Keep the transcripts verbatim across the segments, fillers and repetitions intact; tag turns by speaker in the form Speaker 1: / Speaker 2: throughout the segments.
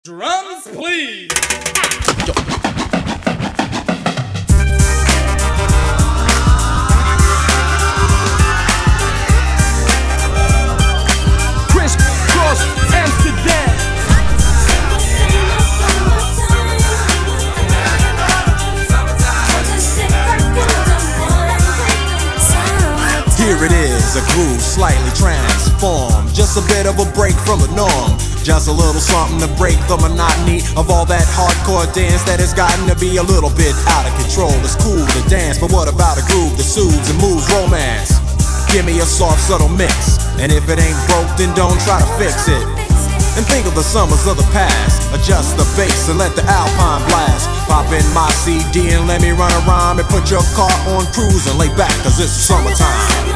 Speaker 1: Drums, please.
Speaker 2: Criss Cross Amsterdam.
Speaker 3: Here it is, a groove slightly transformed. Just a bit of a break from the norm. Just a little something to break the monotony of all that hardcore dance that has gotten to be a little bit out of control. It's cool to dance, but what about a groove that soothes and moves romance? Give me a soft, subtle mix, and if it ain't broke, then don't try to fix it. And think of the summers of the past. Adjust the bass and let the Alpine blast. Pop in my C D and let me run a rhyme and put your car on cruise and lay back, cause it's summertime.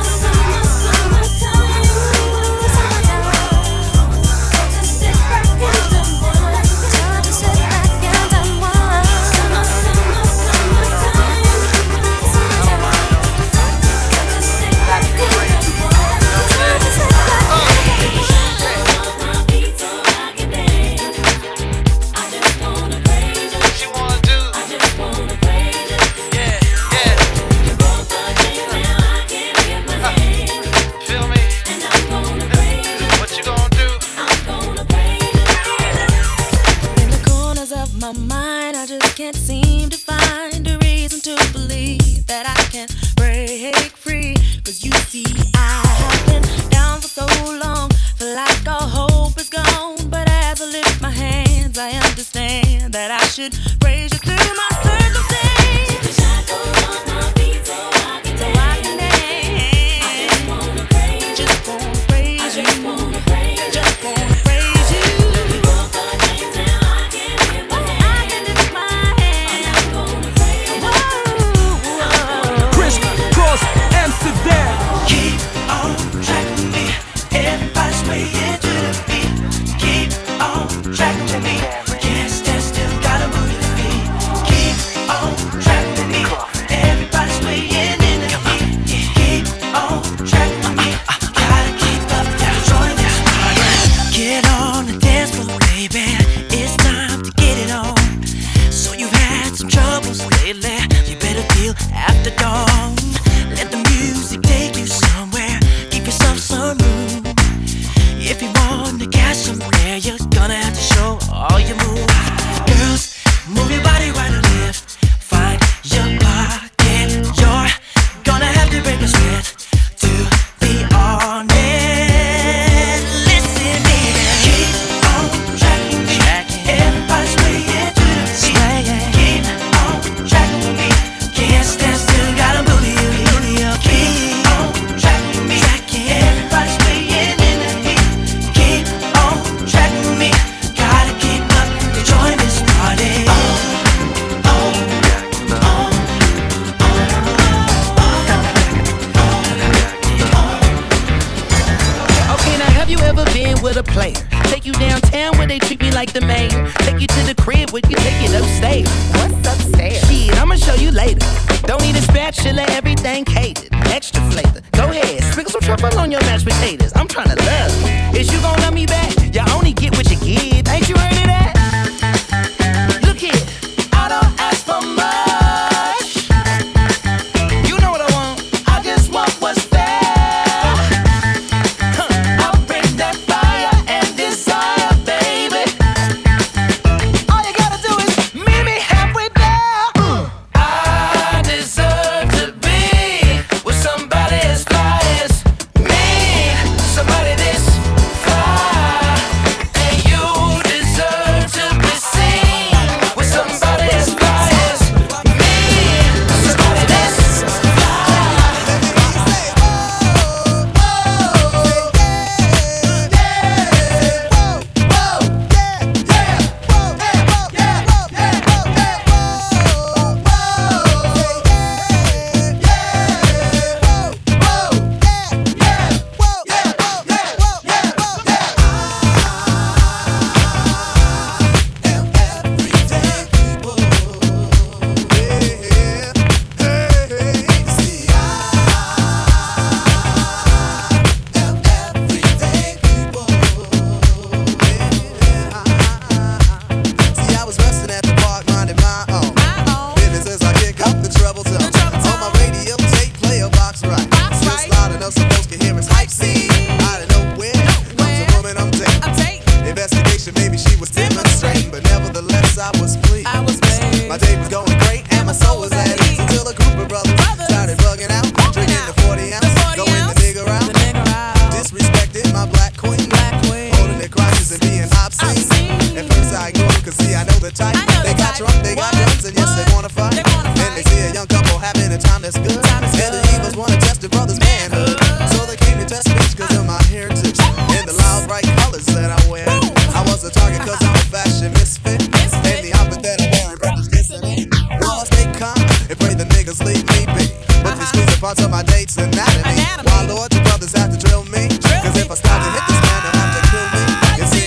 Speaker 4: Somebody this fly.
Speaker 1: demonstration, maybe she was demonstrating, but nevertheless I was pleased.
Speaker 4: I was pleased.
Speaker 1: My day was going great and my soul was at ease until a group of brothers started bugging out, drinking the forty ounce, going the nigga out, disrespecting my black queen, holding their crotches and being obscene. At first I ignored, cause see I know the type. They got drunk, they got drums, and yes they wanna fight. And they see a young couple having a time that's good, and the Eagles wanna test the brothers' manhood. So they came to test me cause of my heritage and the loud bright colors that I wear. I was a target cause I'm a fashion misfit, and the outfit that I'm wearing brothers missing it. Well I stay calm and pray the niggas leave me be, but they squeeze a parts of my date's anatomy. Why Lord, the brothers have to drill me, cause if I start to hit this man they'll have to kill me. You see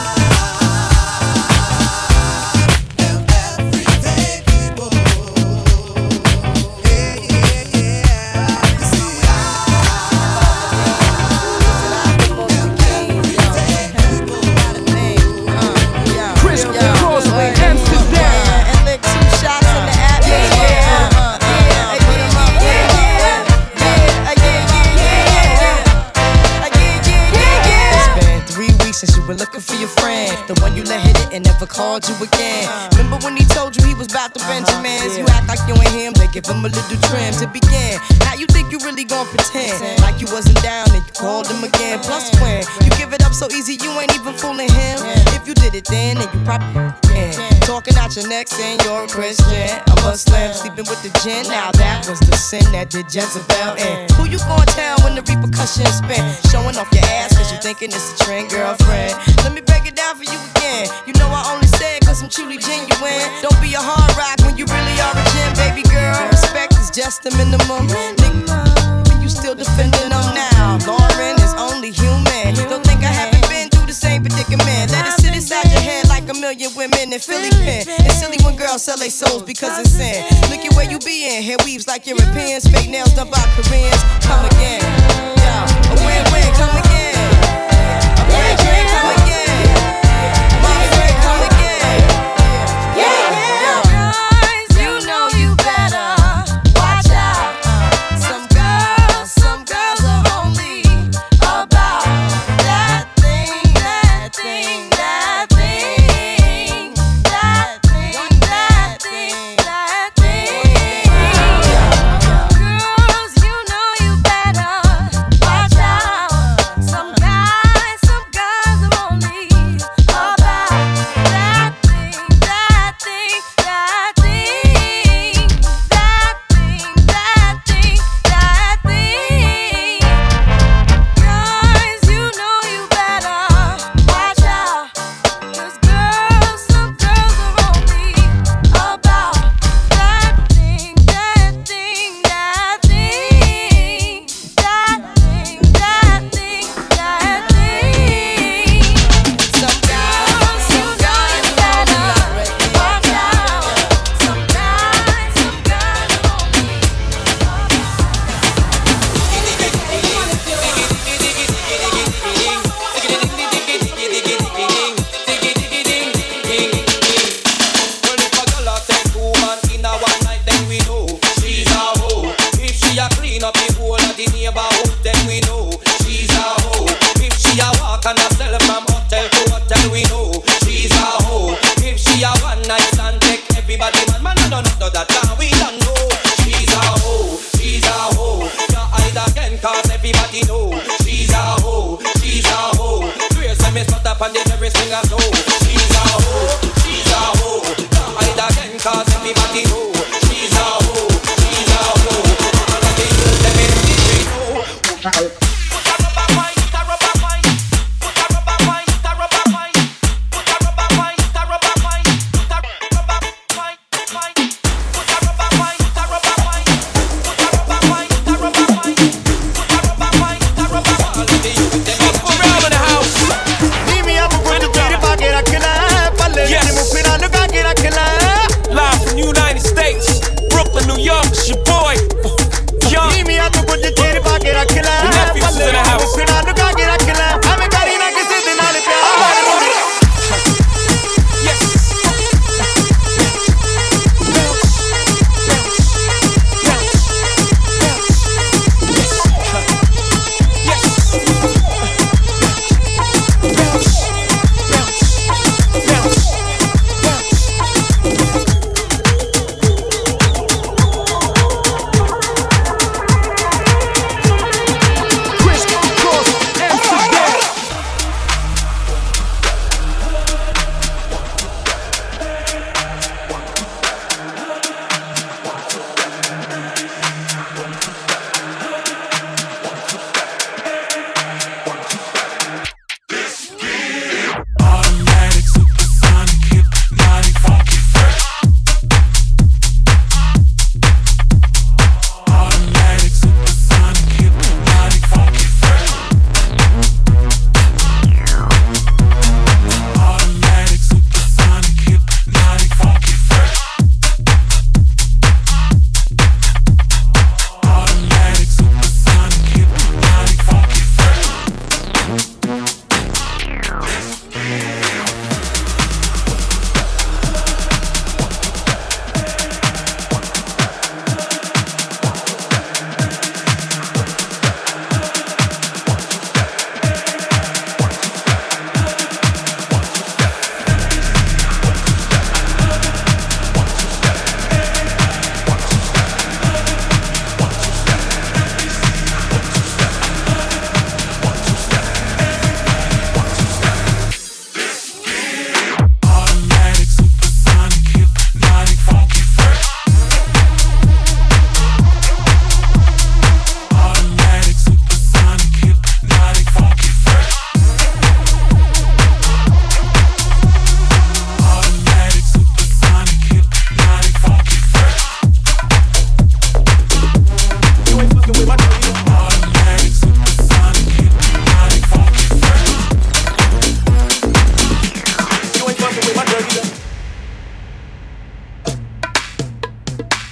Speaker 4: looking for your friend, the one you let hit it and never called you again. Remember when he told you he was about to Benjamins? You act like you ain't him, they give him a little trim to begin. Now you think you really gon' pretend like you wasn't down and you called him again. Plus when you give it up so easy, you ain't even fooling him. If you did it then, then you probably can. Talking out your neck saying you're a Christian, a Muslim, sleeping with the gin. Now that was the sin that did Jezebel in. Who you gon' tell when the repercussions spin? Showing off your ass cause you thinking it's a trend, girlfriend. Let me break it down for you again. You know I only say it cause I'm truly genuine. Don't be a hard rock when you really are a gem, baby girl. Respect is just the minimum. Nigga, you still defending them now. Lauren is only human. Don't think I haven't been through the same predicament. Let it sit inside your head like a million women in Philly pen. It's silly when girls sell their souls because it's sin. Look at where you be in. Hair weaves like Europeans. Fake nails done by Koreans. Come again. Yeah, a win-win. Come again. A win-win. Come again.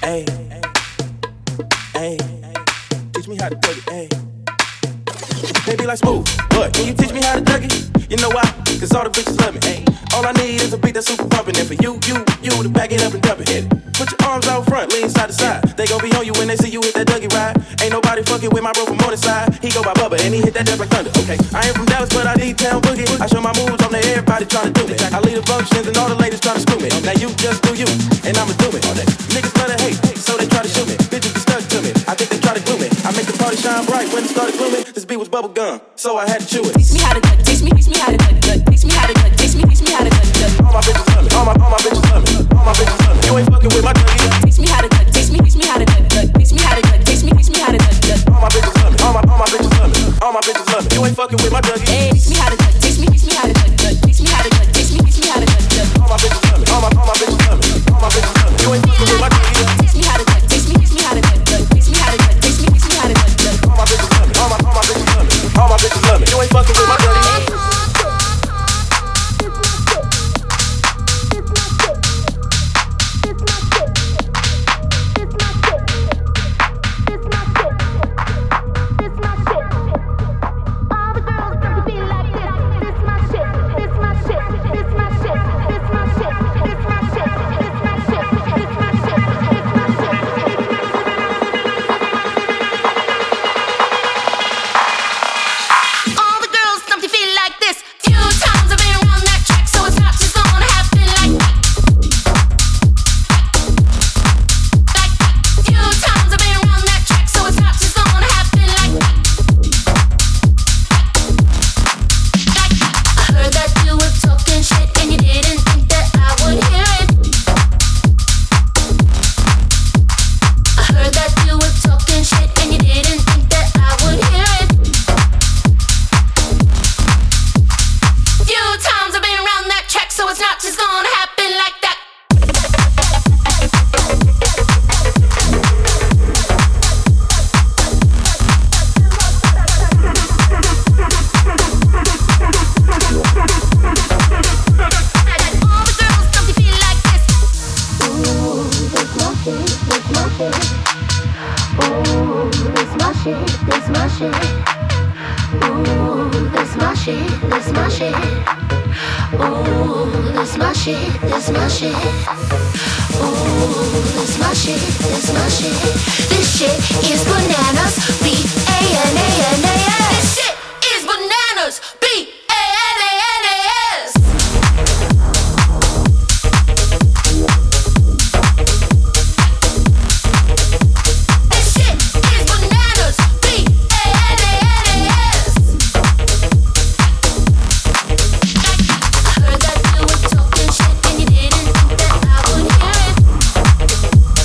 Speaker 5: Hey, hey, teach me how to Dougie it. Hey, baby like smooth. What? Can you teach me how to Dougie it? You know why? Cause all the bitches love me. Hey, all I need is a beat that's super pumping. And for you, you, you to back it up and dump it. Hit it. Put your arms out front, lean side to side. They gon' be on you when they see you hit that Dougie ride. Ain't nobody fucking with my bro from on the side. He go by Bubba and he hit that death like thunder. Okay, I ain't from Dallas, but I need town boogie. I show my moves on there, everybody tryna do me. I lead the functions and all the ladies tryna screw me. Now you just do you, and I'ma do it all day. Niggas love to hate, so they try to shoot me. Bitches be stuck to me, I think they try to glue me. I make the party shine bright when it started glooming. This beat was bubble gum, so I had to chew it.
Speaker 4: Teach me how to cut, teach me, teach me how to cut, cut. Teach me how to cut, teach me, teach me how to cut, cut.
Speaker 5: All my bitches love me, all my, all my bitches love me, all my bitches love me. You ain't fucking with my Dougie.
Speaker 4: Teach me how to cut, teach me, teach me how to cut, cut. Teach me how to cut, teach me, teach me how to cut, cut.
Speaker 5: All my bitches love me, all my, all my bitches love me, all my bitches love me. You ain't fucking with my Dougie.
Speaker 4: Hey, teach me how to cut, teach me, teach me how to cut, cut. Teach me how to cut, teach me, teach me how to cut, cut.
Speaker 5: All my bitches love me, all my, all my bitches love me, all my bitches love me. You ain't fucking with my Dougie.
Speaker 4: Teach me how to cut, teach me, teach me how to cut, cut. Teach me how to cut, teach me, teach me how to cut, cut.
Speaker 5: All my bitches love me, all my, all my bitches love me, all my bitches love me. You ain't fucking with my Dougie.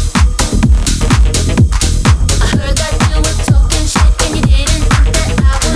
Speaker 6: I heard that you were talking shit and you didn't think that I would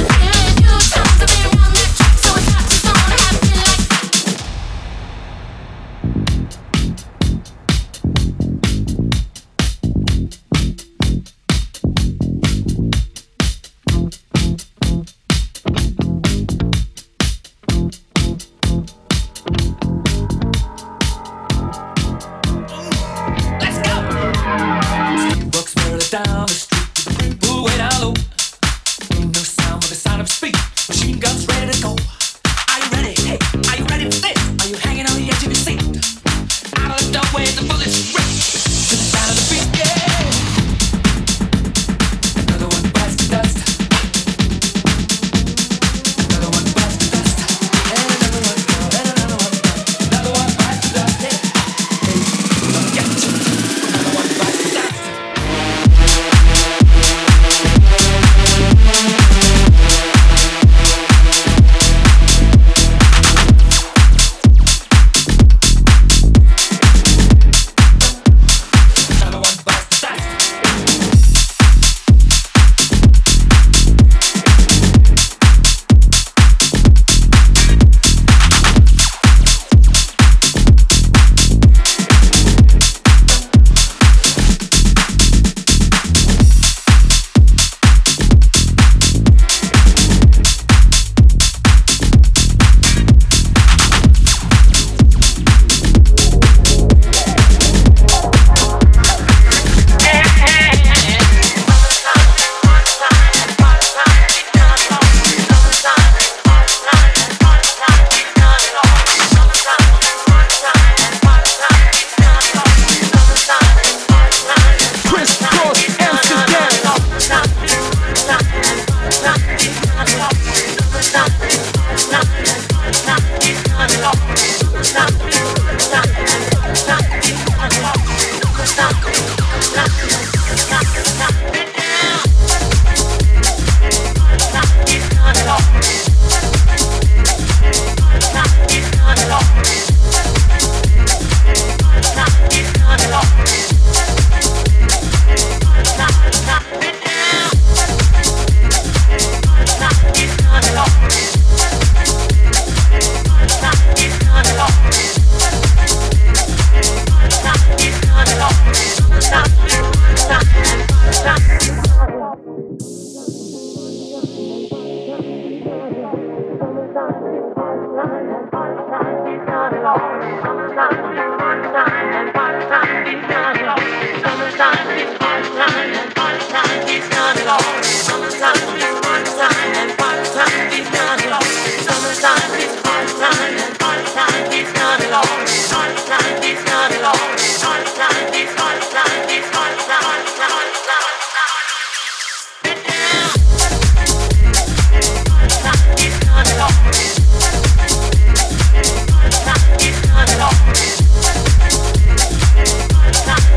Speaker 6: It's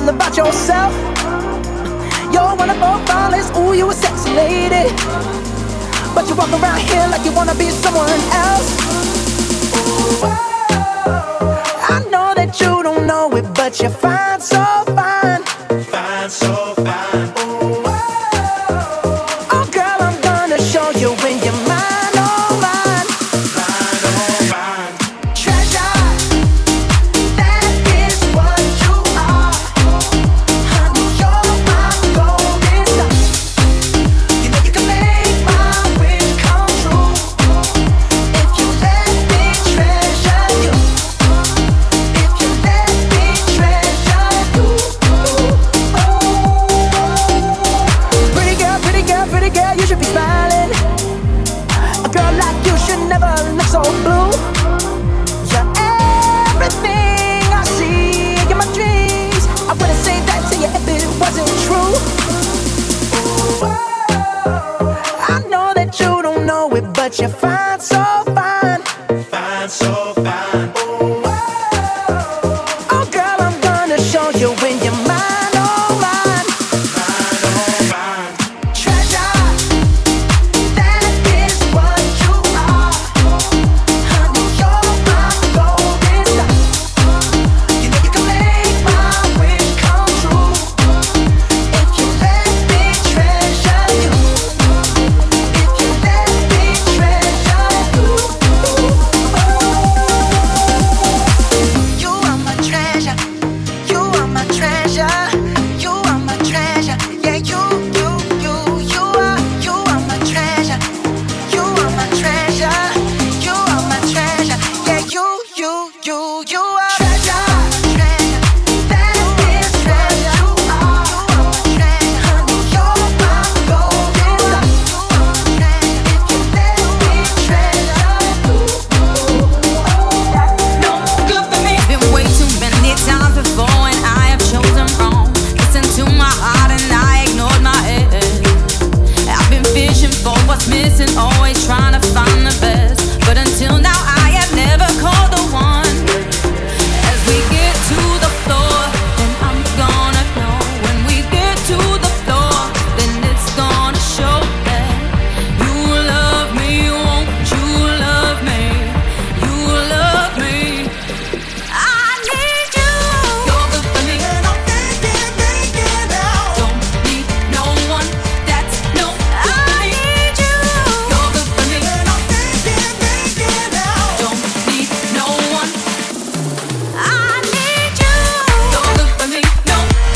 Speaker 6: all about yourself. You're one of our flawless, ooh, you a sexy lady. But you walk around here like you wanna be someone else. Ooh, I know that you don't know it, but you're fine, so fine.
Speaker 5: Fine, so fine.
Speaker 6: Ooh, oh girl, I'm gonna show you when you're mine, oh mine.
Speaker 5: Fine, oh fine.
Speaker 6: Treasure, that is what you are. Honey, you're my golden star. You know you can make my wish come true if you let me treasure you. If you let me treasure you. Pretty girl, pretty girl, pretty girl, you should be smiling. A girl like you should never look so blue. You're everything I see in my dreams. I wouldn't say that to you if it wasn't true. I know that you don't know it, but you're fine, so fine.
Speaker 5: Fine, so fine.
Speaker 6: Oh girl, I'm gonna show you when you're mine, oh mine.
Speaker 5: Fine, oh fine.
Speaker 6: Treasure, that is what you are. Honey, you're my golden star. You know you can make my wish come true if you let me treasure you. If you let me treasure you. You are my treasure. You are my treasure. You are my treasure. Yeah, you, you, you, you are, you are my treasure. You are my treasure. You are my treasure. Yeah, you, you, you, you are treasure. Treasure. That is treasure. You are, you are my treasure. Honey, you're my golden star. If you let me treasure you.
Speaker 7: No good for me. Been way too many times before and I have chosen wrong. Listen to my heart and I ignored my head. I've been fishing for what's missing, always trying to find the best. But until now I have never called the one. As we get to the floor, then I'm gonna know. When we get to the floor, then it's gonna show that you love me, won't you love me? You love me. I need you. You're good for me. Don't need no one. That's no good for me. I need you. You're good for me. Don't need no one. I need you. You're good for me. No.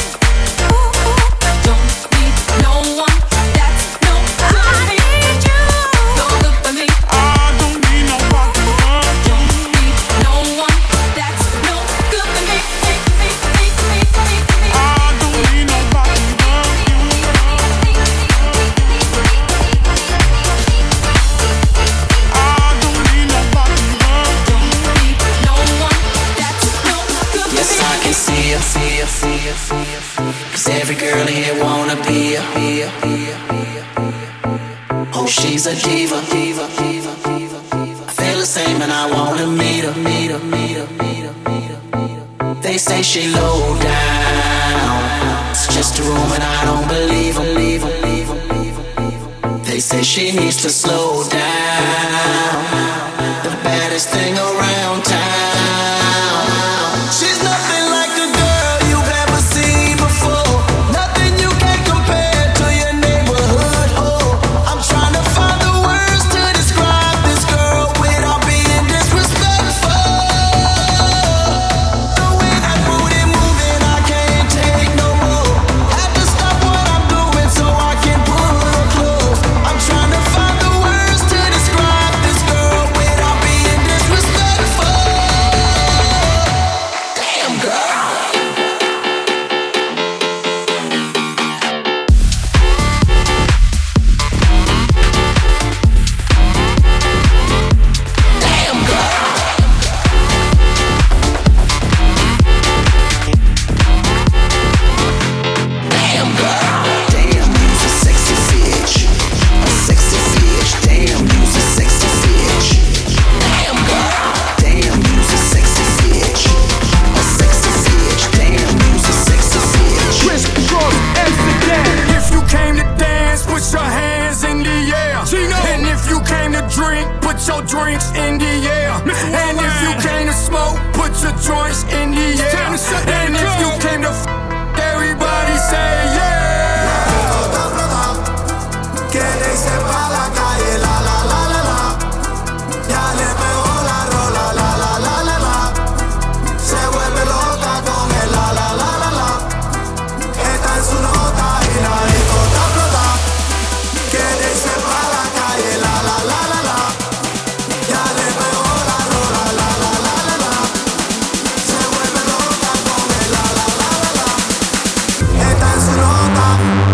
Speaker 7: Don't need no one. That's no. I need you. You're good for me.
Speaker 2: I don't need nobody but you.
Speaker 7: Don't need no one. That's no good for me.
Speaker 2: I don't need nobody but you. I don't need nobody but you.
Speaker 7: Don't need no one. That's no good for
Speaker 8: Yes,
Speaker 7: me.
Speaker 8: I can see her, see her, see her, see her. Cause every girl here wanna be her. Oh, she's a diva, diva, diva, diva. I feel the same and I wanna meet her, meet her, meet her, meet her, meet her. They say she low down. It's just a room and I don't believe her, leave her, leave her, leave her, leave her. They say she needs to slow down. The baddest thing around town. She's nothing like the girl you've ever seen before. Nothing you can compare to your neighborhood hoe. I'm trying to find the words to describe this girl without being disrespectful. The way that booty moving, I can't take no more. Have to stop what I'm doing so I can pull her close. I'm trying to find the words to describe this girl without being disrespectful.
Speaker 9: drinks in the air. And if you came to smoke, put your joints in the air. And if you came to f, everybody say yeah.
Speaker 1: Que le hice pa' la calle, la la la la la. Ya le pegó la rola, la la la la la. Se vuelve loca con el la la la la la. Está en su nota y la disco está explota. Que le hice pa' la calle, la la la la la. Ya le pegó la rola, la la la la la. Se vuelve loca con el la la la la la. Está en su nota.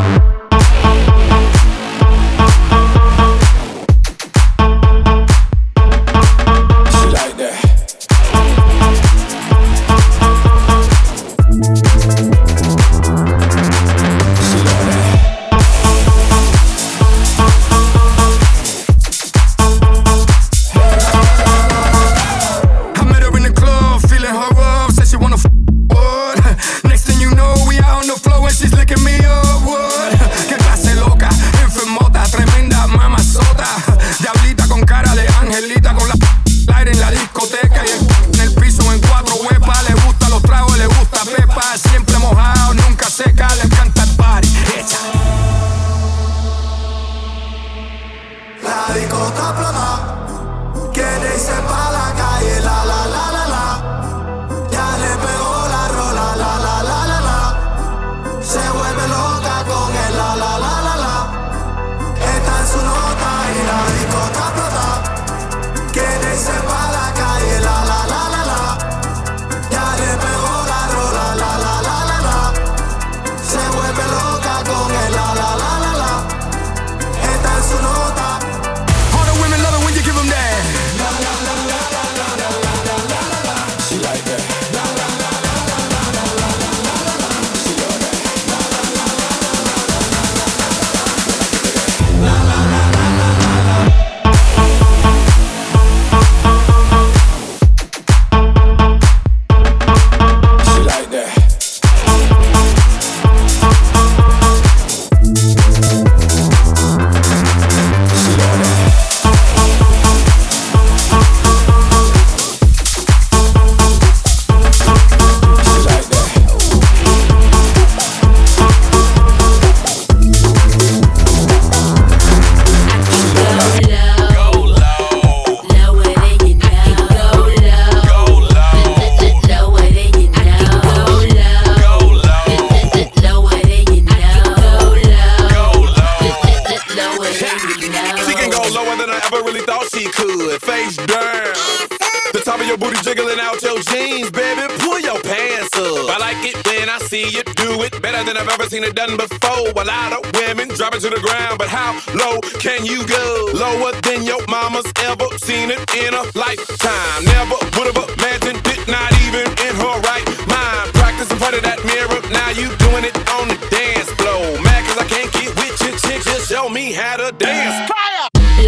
Speaker 10: Seen it done before. A lot of women drop it to the ground, but how low can you go? Lower than your mama's ever seen it in a lifetime. Never would have imagined it, not even in her right mind. Practice in front of that mirror, now you doing it on the dance floor. Mad cause I can't get with your chick, just show me how to dance. Fire!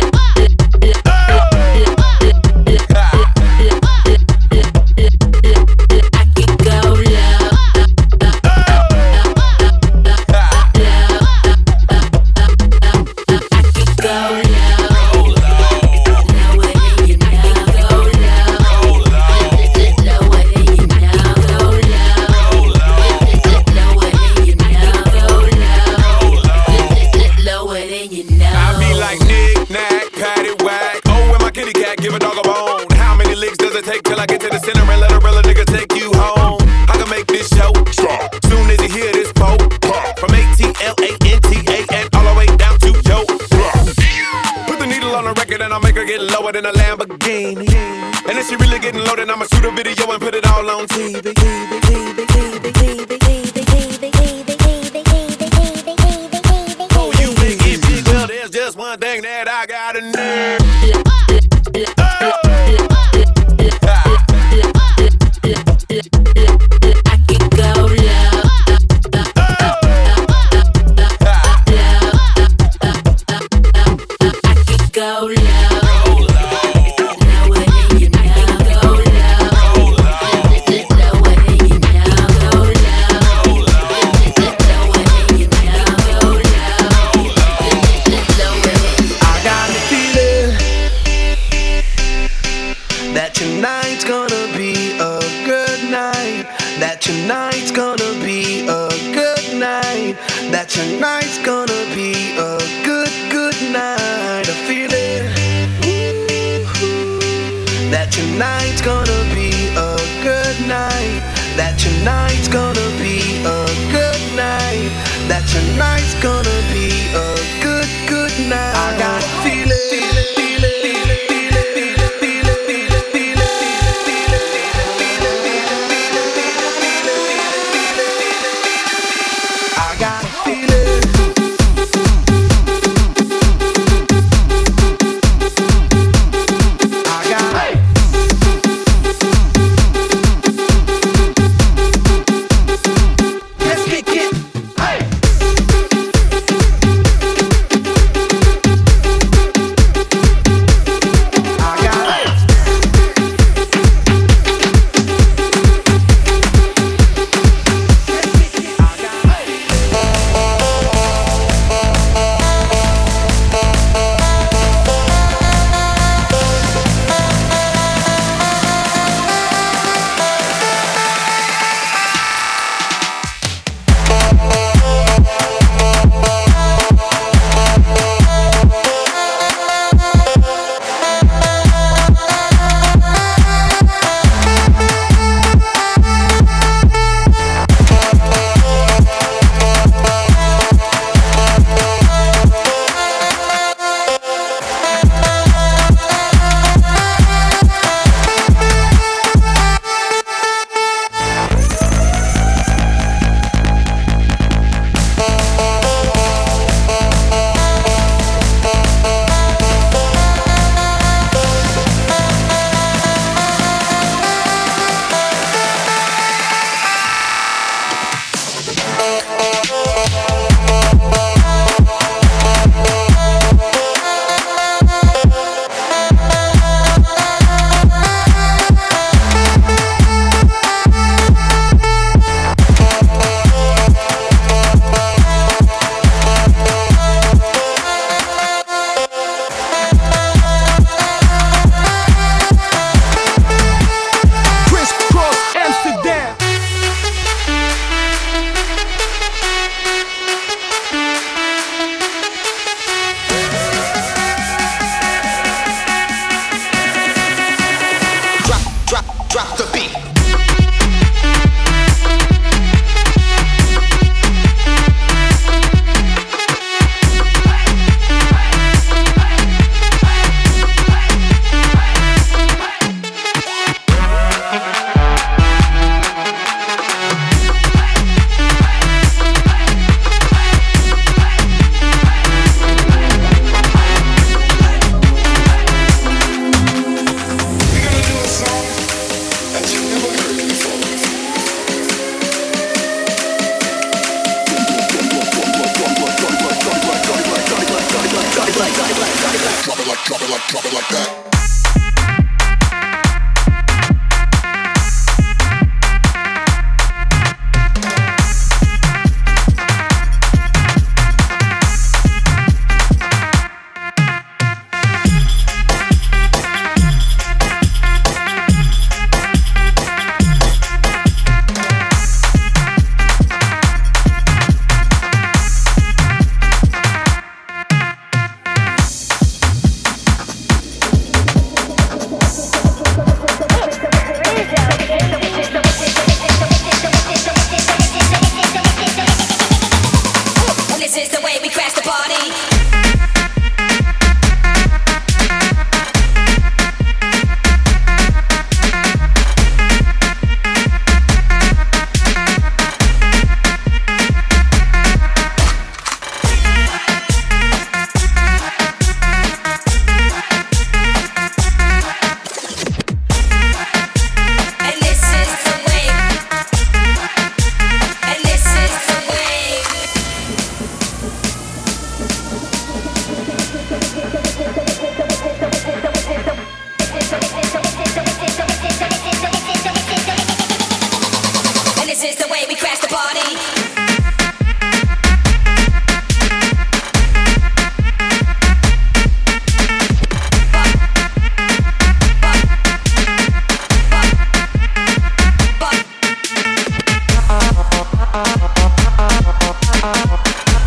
Speaker 10: In a Lamborghini, and if she really getting loaded, I'ma shoot a video and put it all on T V. Oh, you think it's big? Well, there's just one thing that I gotta know.
Speaker 1: I got the feeling that tonight's gonna be a good, good night. I feel it. That tonight's gonna be a good night. That tonight's gonna be a good night. That tonight's gonna be a good, good night. I got a feeling. Feel it, feel it, feel it, feel it, feel it, feel it, feel it, feel it, feel it, feel it, feel it, feel it, feel it, feel it. I got a feeling. I got it. Let's kick it. Hey.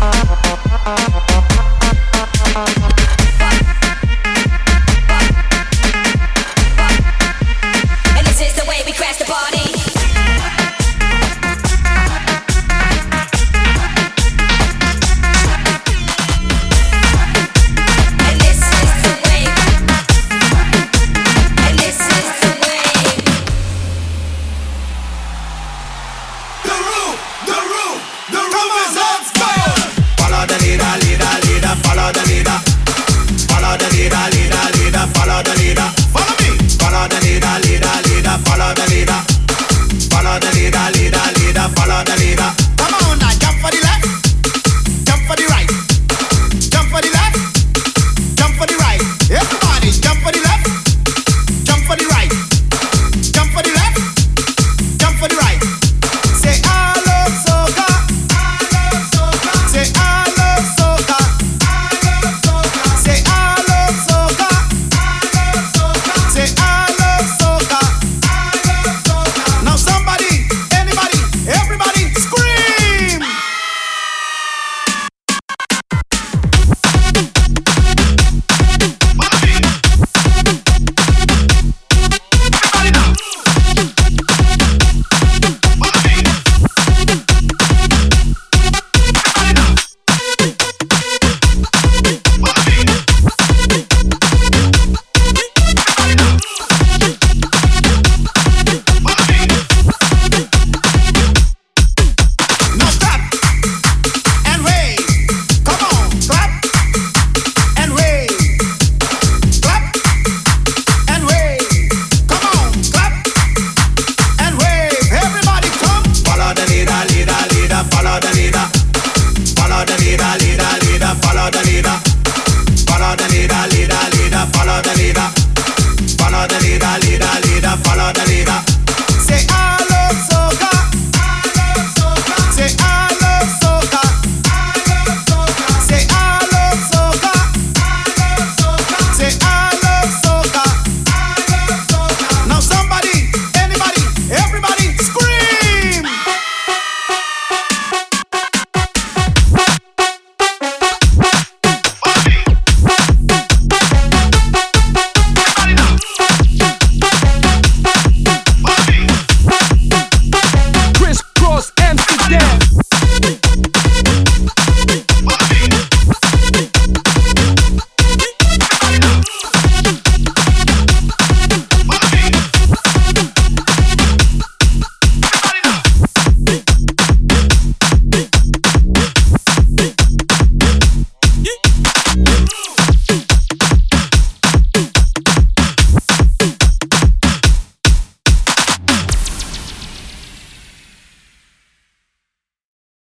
Speaker 11: Follow the leader, leader, leader. Follow the leader, leader, leader.